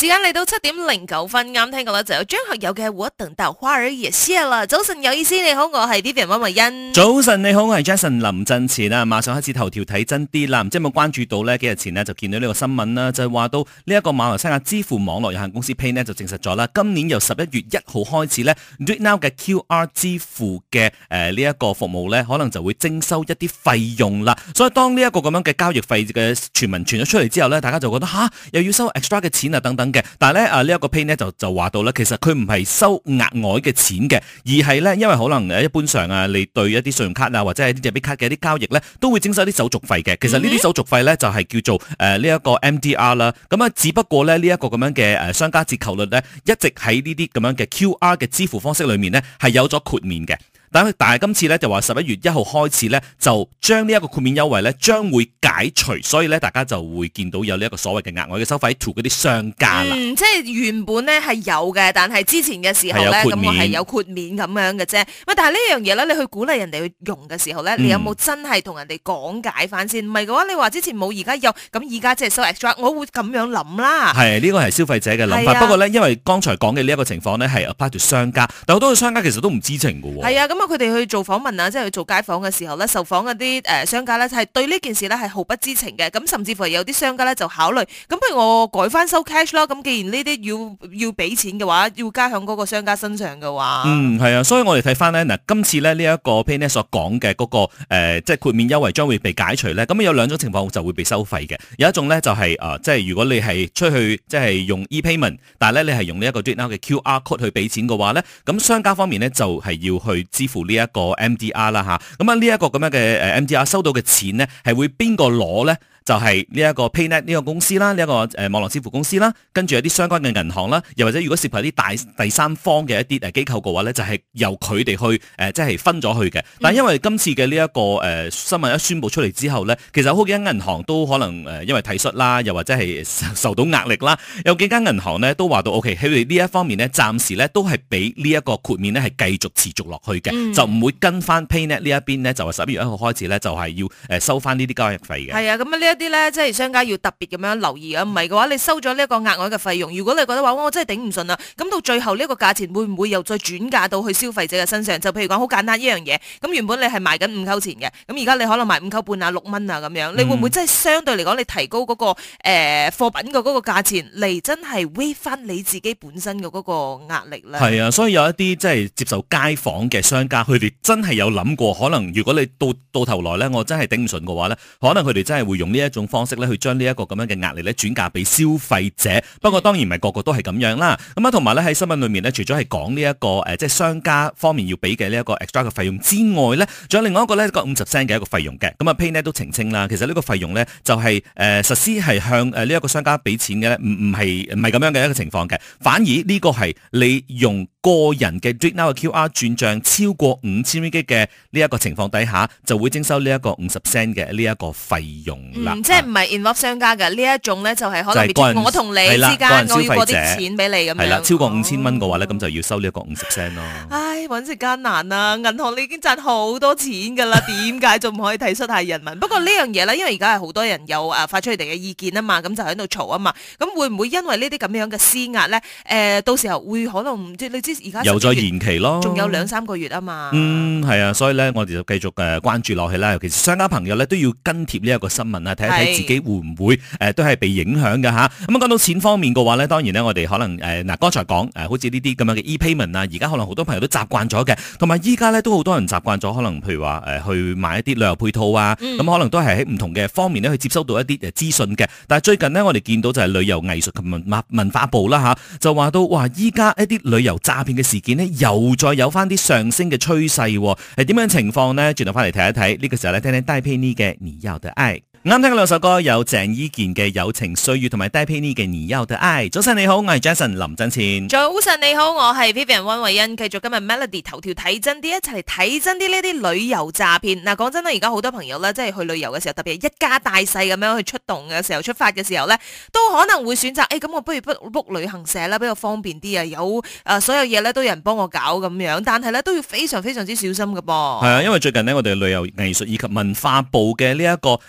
時間嚟到7:09，啱聽過啦，就有張學友嘅《我等到花兒也謝了》。早晨有意思，你好，我係 Vivian 溫慧欣。 早晨你好，我係 Jason 林振前啊！馬上開始頭條睇真啲啦，唔知有冇關注到呢？幾日前呢，就見到呢個新聞啦，就係話到呢一個馬來西亞支付網絡有限公司 Pay 呢就證實咗啦，今年由11月1號開始呢 DuitNow 嘅 QR 支付嘅呢一個服務呢，可能就會徵收一啲費用啦。所以當呢一個咁樣嘅交易費嘅傳聞傳咗出嚟之後呢，大家就覺得又要收 extra 嘅錢啊等等嘅。但係咧呢一個 Pay 呢就話到咧，其實佢唔係收額外嘅錢嘅，而係咧因為可能一般上你對一啲信用卡啊或者係啲 debit 卡嘅一啲交易咧，都會徵收啲手續費嘅。其實呢啲手續費咧就係叫做呢一個 MDR 啦。咁啊，只不過咧呢一個咁樣嘅商家折扣率咧，一直喺呢啲咁樣嘅 QR 嘅支付方式裏面咧係有咗豁免嘅。但係今次咧就話11月1號開始咧就將呢一個豁免優惠咧將會解除，所以咧大家就會見到有呢一個所謂嘅額外嘅收費 to 嗰啲商家啦。 即係原本咧係有嘅，但係之前嘅時候咧咁我係有豁免咁樣嘅啫。喂，但係呢樣嘢咧，你去鼓勵人哋去用嘅時候咧，你有冇真係同人哋講解翻先？唔係嘅話，你話之前冇而家有，咁而家即係收 extra，我會咁樣諗啦。係呢個係消費者嘅諗法。不過咧，因為剛才講嘅呢一個情況咧係 apply to 商家，但好多嘅商家其實都唔知情嘅喎。係啊，咁啊佢哋去做訪問啊，即係去做街訪嘅時候咧，受訪嗰啲商家咧係對呢件事咧係毫不知情嘅，咁甚至乎有啲商家咧就考慮，咁不如我改翻收 cash 咯，咁既然呢啲要俾錢嘅話，要加響嗰個商家身上嘅話， 係啊，所以我哋睇翻咧嗱，今次咧呢一個 Pay 所講嘅嗰個即係豁免優惠將會被解除咧，咁有兩種情況就會被收費嘅，有一種咧就係即係如果你係出去即係用 e-payment， 但係咧你係用呢一個 DuitNow 嘅 QR code 去俾錢嘅話咧，咁商家方面咧就係要去支付呢一個MDR 啦嚇，咁啊呢一個咁樣嘅MDR 收到嘅錢呢，係會邊個攞咧？就係呢一個 PayNet 呢個公司啦，呢一個網絡支付公司啦，跟住有啲相關嘅銀行啦，又或者如果涉及啲第三方嘅一啲機構嘅話咧，就係由佢哋去即係分咗去嘅。但係因為今次嘅呢一個新聞一宣佈出嚟之後咧，其實好幾間銀行都可能因為體恤啦，又或者係受到壓力啦，有幾間銀行咧都話到 OK，佢哋呢一方面咧暫時咧都係俾呢一個豁免咧係繼續持續落去嘅，就唔會跟翻 PayNet 呢一邊咧，就話11月1號開始咧就係要收翻呢啲交易費嘅。係啊，咁一啲咧，即係商家要特別咁樣留意啊！唔係嘅話，你收咗呢一個額外嘅費用，如果你覺得話我真係頂唔順啦，咁到最後呢一個價錢會唔會又再轉嫁到去消費者嘅身上？就譬如講好簡單一樣嘢，咁原本你係賣緊5溝錢嘅，咁而家你可能賣5溝半啊、6蚊啊咁樣，你會唔會真係相對嚟講，你提高嗰個貨品嘅嗰個價錢嚟真係 waive 翻你自己本身嘅嗰個壓力咧？係啊，所以有一啲即係接受街訪嘅商家，佢哋真係有諗過，可能如果你到頭來咧，我真係頂唔順嘅話咧，可能佢哋真係會用呢一種方式咧，去將呢一個咁樣嘅壓力咧轉嫁俾消費者。不過當然唔係個個都係咁樣啦。咁啊，同埋咧喺新聞裏面咧，除咗係講呢一個即係商家方面要俾嘅呢一個 extra 嘅費用之外咧，仲有另外一個咧個50 cent 嘅一個費用嘅。咁啊 PayNet 都澄清啦，其實呢個費用咧就係實施係向呢一個商家俾錢嘅咧，唔係咁樣嘅一個情況嘅。反而呢個係你用個人嘅 DuitNow 嘅 QR 轉賬超過5000 ringgit 嘅呢一個情況底下，就會徵收呢一個50 cent 嘅呢一個費用啦。 即係唔係 involve 商家嘅呢一種咧，就係可能我同你之間我要過啲錢俾你咁樣。係啦， 超過5000蚊嘅話咧，咁就要收呢一個50 cent 咯。 唉，揾食艱難啊！銀行你已經賺好多錢㗎啦，點解仲唔可以體恤下人民？不過呢樣嘢咧，因為而家係好多人有發出佢哋嘅意見啊嘛，咁就喺度嘈啊嘛。咁會唔會因為呢啲咁樣嘅施壓咧？到時候會可能即係你知而家又再延期咯， 仲有2-3個月啊嘛。 係啊，所以咧我哋就繼續關注落去啦。尤其是商家朋友咧都要跟貼呢一個新聞啊，睇一睇自己會唔會都係被影響嘅嚇。咁講到錢方面嘅話咧，當然咧我哋可能剛才講好似呢啲咁樣嘅 e-payment 啊，而家可能好多朋友都習慣咗嘅，同埋依家咧都好多人習慣咗，可能譬如話去買一啲旅遊配套啊，咁可能都係喺唔同嘅方面咧去接收到一啲資訊嘅。但係最近呢，我哋見到就係旅遊藝術及文化部啦嚇，就話到哇，依家一啲旅遊詐騙嘅事件呢，又再有翻啲上升嘅趨勢，係點樣情況呢？轉頭翻嚟睇一睇，呢個時候咧聽聽戴佩妮嘅《你要的愛》。啱聽嘅兩首歌有鄭伊健嘅《友情歲月》同埋戴佩妮嘅《你要的愛》。早晨你好，我係 Jason 林振前。 早晨你好，我係 Vivian 溫慧欣。繼續今日 Melody 頭條睇真啲，一齊嚟睇真啲呢啲旅遊詐騙。嗱，講真啦，而家好多朋友咧，即係去旅遊嘅時候，特別係一家大細咁樣去出動嘅時候，出發嘅時候咧，都可能會選擇咁我不如 book 旅行社啦，比較方便啲啊，有所有嘢咧都有人幫我搞咁樣，但係咧都要非常非常之小心㗎噃。係啊，因為最近呢，我哋旅遊藝術以及文化部嘅呢一個執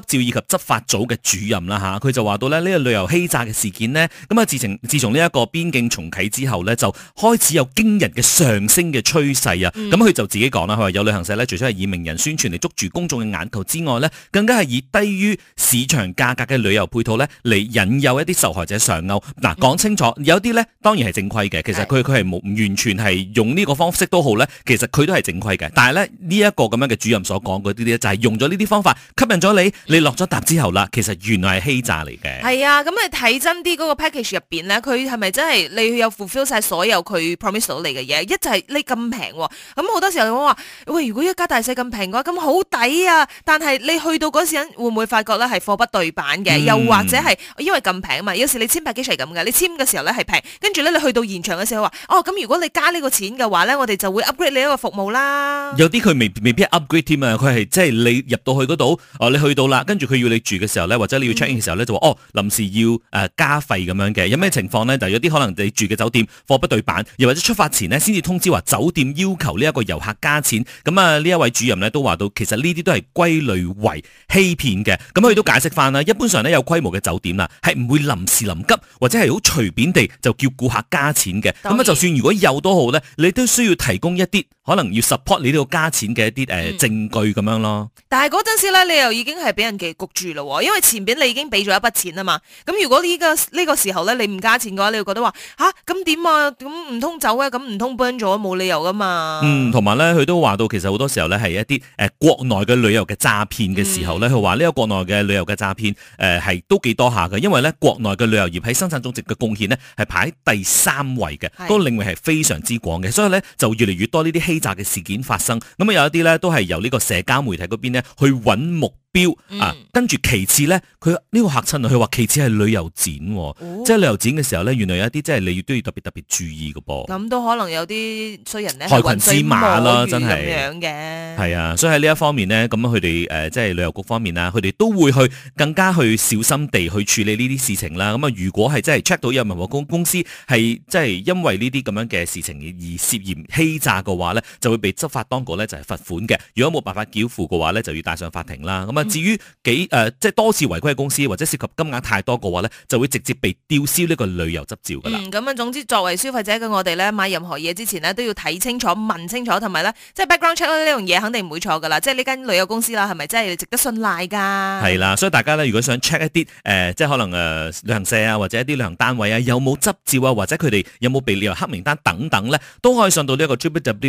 照以及執法組嘅主任啦嚇，佢就話到咧呢個旅遊欺詐嘅事件呢，咁啊自從呢一個邊境重啟之後呢，就開始有驚人嘅上升嘅趨勢啊！咁佢就自己講啦，佢話有旅行社呢，除咗係以名人宣傳嚟捉住公眾嘅眼球之外呢，更加係以低於市場價格嘅旅遊配套呢嚟引誘一啲受害者上鈎。嗱，講清楚，有啲呢當然係正規嘅，其實佢係冇完全係用呢個方式都好呢，其實佢都係正規嘅。但係咧呢一個咁樣嘅主任所講嗰啲咧，就係用咗呢啲方法吸引咗你落咗搭之後啦，其實原來係欺詐嚟嘅。 係啊，咁你睇真啲嗰個 package 入邊咧，佢係咪真係你有 fulfill 晒所有佢 promise 到你嘅嘢？一就係你咁平喎，咁好多時候我話喂，如果一家大細咁平嘅話，咁好抵啊！但係你去到嗰時會唔會發覺咧係貨不對版嘅？又或者係因為咁平啊嘛？有時你簽 package 係咁嘅，你簽嘅時候咧係平，跟住咧你去到現場嘅時候話哦，咁如果你加呢個錢嘅話咧，我哋就會 upgrade 你一個服務啦。 有啲佢未必 upgrade 添啊，佢係即係你入到去嗰度，你去到啦，跟住佢要你住嘅時候咧，或者你要 check in 嘅時候咧，就話臨時要加費咁樣嘅。有咩情況咧？就有啲可能你住嘅酒店貨不對版，又或者出發前呢先至通知話酒店要求呢一個遊客加錢。咁啊呢一位主任咧都話到，其實呢啲都係歸類為欺騙嘅。咁佢都解釋翻啦，一般上咧有規模嘅酒店啦，係唔會臨時臨急或者係好隨便地就叫顧客加錢嘅。咁啊就算如果有都好咧，你都需要提供一啲可能要 support 你呢個加錢嘅一啲證據咁樣咯。 但係嗰陣時咧，你又已經係俾人嘅焗住咯，因為前邊你已經俾咗一筆錢啊嘛。咁如果呢個時候咧，你唔加錢嘅話，你會覺得話咁點啊？咁唔通走啊？咁唔通 burn 咗冇理由噶嘛？ 同埋咧，佢都話到其實好多時候咧係一啲國內嘅旅遊嘅詐騙嘅時候咧，佢話呢個國內嘅旅遊嘅詐騙係都幾多下嘅，因為咧國內嘅旅遊業喺生產總值嘅貢獻呢係排喺第3位嘅，嗰個領域係非常之廣嘅，所以咧就越嚟越多呢啲欺詐嘅事件發生。咁有一啲咧都係由呢個社交媒體嗰邊呢去揾目標跟住其次咧，佢呢個嚇親啊！佢話其次係旅遊展，即係旅遊展嘅時候咧，原來有一啲即係你都要特別注意嘅噃。 咁都可能有啲衰人咧， 害群之馬啦，真係咁樣嘅。 係啊，所以喺呢一方面呢，咁佢哋即係旅遊局方面啊，佢哋都會去更加去小心地去處理呢啲事情啦。咁啊，如果係真係 check 到有民航公司係即係因為呢啲咁樣嘅事情而涉嫌欺詐嘅話咧，就會被執法當局咧就係罰款嘅。如果冇辦法繳付嘅話咧，就要帶上法庭啦。咁啊，至於即係多次違規嘅公司或者涉及金額太多嘅話咧，就會直接被吊銷呢個旅遊執照噶啦。 咁總之作為消費者嘅我哋咧，買任何嘢之前咧都要睇清楚、問清楚，同埋咧即係 background check 呢樣嘢肯定唔會錯噶啦。即係呢間旅遊公司啦，係咪真係值得信賴噶？係啦，所以大家咧如果想 check 一啲即係可能旅行社啊或者一啲旅行單位啊有冇執照啊或者佢哋有冇被列入黑名單等等咧，都可以上到呢一個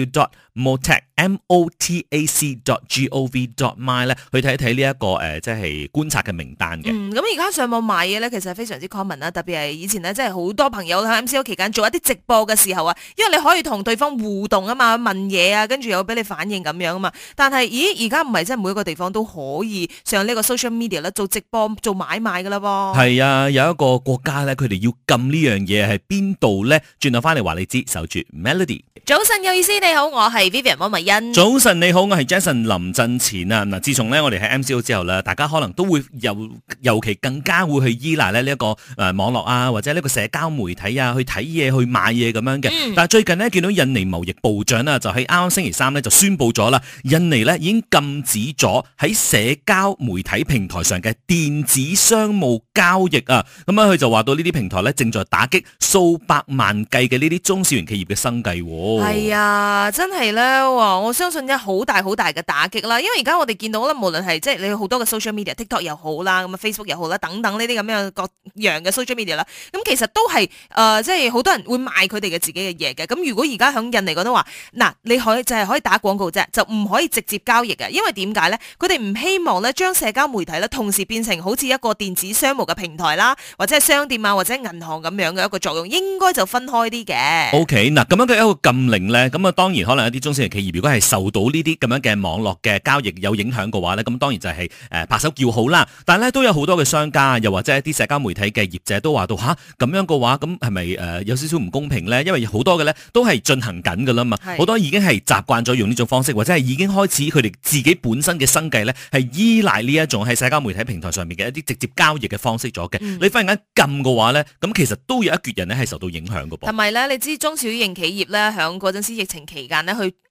www.motac.gov.my 咧去睇一睇呢一個即係觀察嘅名單嘅。 咁而家上網買嘢咧，其實係非常之 common 啦，特別係以前咧，即係好多朋友喺 MCO 期間做一啲直播嘅時候啊，因為你可以同對方互動啊嘛，問嘢啊，跟住又俾你反應咁樣啊嘛。但係，而家唔係真係每一個地方都可以上呢個 social media 啦，做直播做買賣噶啦噃。係啊，有一個國家咧，佢哋要禁呢樣嘢係邊度咧？轉頭翻嚟話你知，守住 Melody。 早晨有意思，你好，我係 Vivian 莫文欣。 早晨你好，我係 Jason 林振前啊。嗱，自從咧我哋喺 MCO 之後咧，大家可能都會尤其更加會去依賴咧呢一個網絡啊，或者呢個社交媒體啊，去睇嘢、去買嘢咁樣嘅。但係最近呢，見到印尼貿易部長啊，就喺啱啱星期三咧就宣布咗啦，印尼咧已經禁止咗喺社交媒體平台上嘅電子商務交易啊。咁樣佢就話到呢啲平台咧正在打擊數百萬計嘅呢啲中小型企業嘅生計。 係啊，真係咧，我相信好大嘅打擊啦。因為而家我哋見到啦，無論係即係你好多嘅 social media，TikTok 又好啦，咁啊 Facebook 又好啦，等等呢啲咁樣各樣嘅 social media 啦，咁其實都係即係好多人會賣佢哋嘅自己嘅嘢嘅。咁如果而家響印尼嗰度話，嗱，你可以就係可以打廣告啫，就唔可以直接交易嘅。因為點解咧？佢哋唔希望咧將社交媒體咧同時變成好似一個電子商務嘅平台啦，或者係商店啊，或者銀行咁樣嘅一個作用，應該就分開啲嘅。 OK， 嗱，咁樣嘅一個禁令咧，咁啊當然可能有啲中小型企業如果係受到呢啲咁樣嘅網絡嘅交易有影響嘅話咧，咁當然就係拍手叫好啦。但係咧都有好多嘅商家，又或者一啲社交媒體嘅業者都話到咁樣嘅話，咁係咪有少少唔公平咧？因為好多嘅咧都係進行緊㗎啦嘛，好多已經係習慣咗用呢種方式，或者係已經開始佢哋自己本身嘅生計咧係依賴呢一種喺社交媒體平台上面嘅一啲直接交易嘅方式咗嘅。你忽然間禁嘅話咧，咁其實都有一橛人咧係受到影響㗎噃。 同埋咧，你知中小型企業咧響嗰陣時疫情期間咧去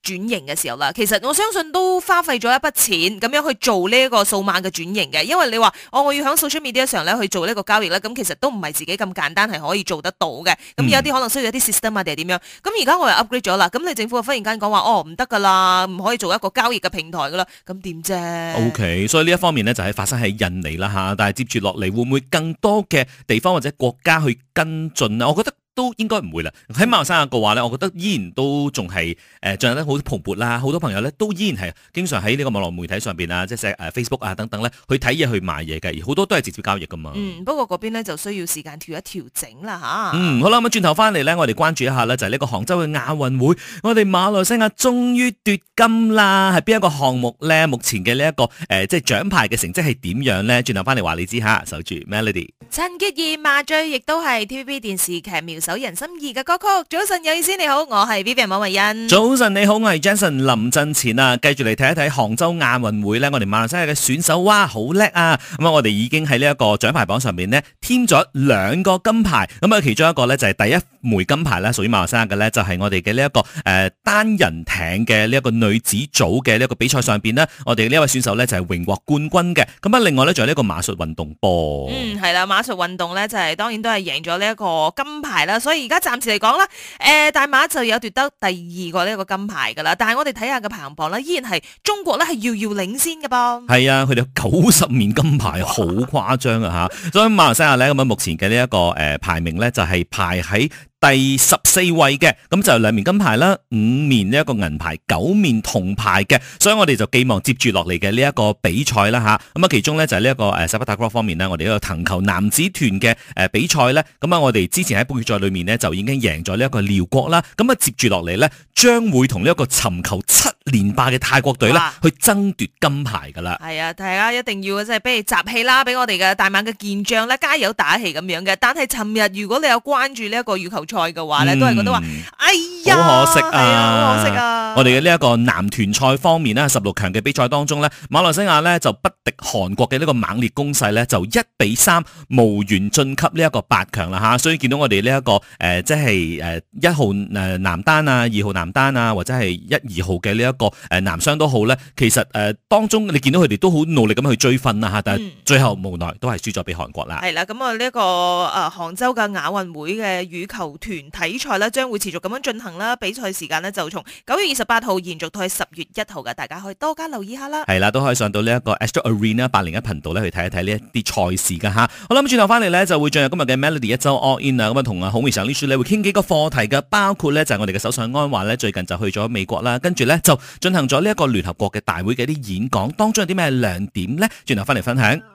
轉型嘅時候啦，其實我相信都花費咗一筆錢咁樣去做呢一個數碼嘅轉型嘅，因為你話我要喺 social media 上咧去做呢個交易咧，咁其實都唔係自己咁簡單係可以做得到嘅，咁有啲可能需要一啲 system 啊定係點樣，咁而家我又 upgrade 咗啦，咁你政府忽然間講話唔得噶啦，唔可以做一個交易嘅平台噶啦，咁點啫 ？OK，所以呢一方面咧就係發生喺印尼啦嚇，但係接住落嚟會唔會更多嘅地方或者國家去跟進啊？我覺得都應該唔會啦。喺馬來西亞嘅話咧，我覺得依然都仲係進行得好蓬勃啦。好多朋友咧都依然係經常喺呢個網絡媒體上邊啊，即係Facebook 啊等等咧去睇嘢去買嘢嘅，而好多都係直接交易噶嘛。 不過嗰邊咧就需要時間調一調整啦嚇。 好啦，咁轉頭翻嚟咧，我哋關注一下咧，就係呢個杭州嘅亞運會，我哋馬來西亞終於奪金啦，係邊一個項目咧？目前嘅呢一個即係獎牌嘅成績係點樣咧？轉頭翻嚟話你知下，守住 Melody。 陳潔儀麻醉亦都係 TVB 電視劇妙手仁心二嘅歌曲。早晨有意思，你好，我係 Vivian 馬慧欣。 早晨你好，我係 Jason 林振前啊。繼續嚟睇一睇杭州亞運會咧，我哋馬來西亞嘅選手哇好叻啊！咁我哋已經喺呢一個獎牌榜上面呢，添咗2個金牌。咁其中一個咧就係第一枚金牌咧，屬於馬來西亞嘅咧，就係我哋嘅呢一個單人艇嘅呢一個女子組嘅呢一個比賽上邊呢，我哋呢一位選手咧就係榮獲冠軍嘅。咁另外咧仲有呢一個馬術運動波。 係啦，馬術運動咧就係當然都係贏咗呢一個金牌啦。所以而家暫時嚟講啦，大馬就有奪得第2個呢一個金牌噶啦。但係我哋睇下嘅排行榜咧，依然係中國咧係遙遙領先嘅噃。係啊，佢哋有90面金牌，好誇張啊吓！所以馬來西亞咧咁目前嘅呢一個排名咧就係排喺第14位嘅，咁就2面金牌啦，5面呢一個銀牌，9面銅牌嘅，所以我哋就寄望接住落嚟嘅呢一個比賽啦吓，咁其中咧就係呢一個sepak takraw方面呢，我哋呢個藤球男子團嘅比賽咧，咁我哋之前喺半決賽裏面呢，就已經贏咗呢一個寮國啦，咁接住落嚟咧將會同呢一個尋求7連霸嘅泰國隊咧去爭奪金牌噶啦。 係啊，大家一定要即係俾你集氣啦，俾我哋嘅大馬嘅健將咧加油打氣咁樣嘅。但係尋日如果你有關注呢一個羽球賽嘅話咧，都係覺得話，哎呀， 好可惜啊， 好可惜啊！ 我哋嘅呢一個男團賽方面呢，16強嘅比賽當中呢，馬來西亞呢就不敵韓國嘅呢個猛烈攻勢呢，就1-3無緣晉級呢一個8強啦吓。所以見到我哋呢一個即係1號男單啊，2號男單啊，或者係1、2號嘅呢一個男雙都好呢，其實當中你見到佢哋都好努力咁去追分啦吓，但係最後無奈都係輸咗俾韓國啦。 係啦，咁啊呢一個杭州嘅亞運會嘅羽球團體賽咧，將會持續咁樣進行啦。比賽時間呢，就從9月28號延續到去10月1號嘅，大家可以多加留意下啦。 係啦，都可以上到呢一個 Astro Arena 801頻道咧去睇一睇呢一啲賽事噶吓。好啦，咁轉頭翻嚟咧就會進入今日嘅 Melody 一周 All In 啊，咁啊同孔維常律師咧會傾幾個課題嘅，包括咧就係我哋嘅首相安華咧最近就去咗美國啦，跟住咧就進行咗呢一個聯合國嘅大會嘅一啲演講，當中有啲咩亮點咧？轉頭翻嚟分享。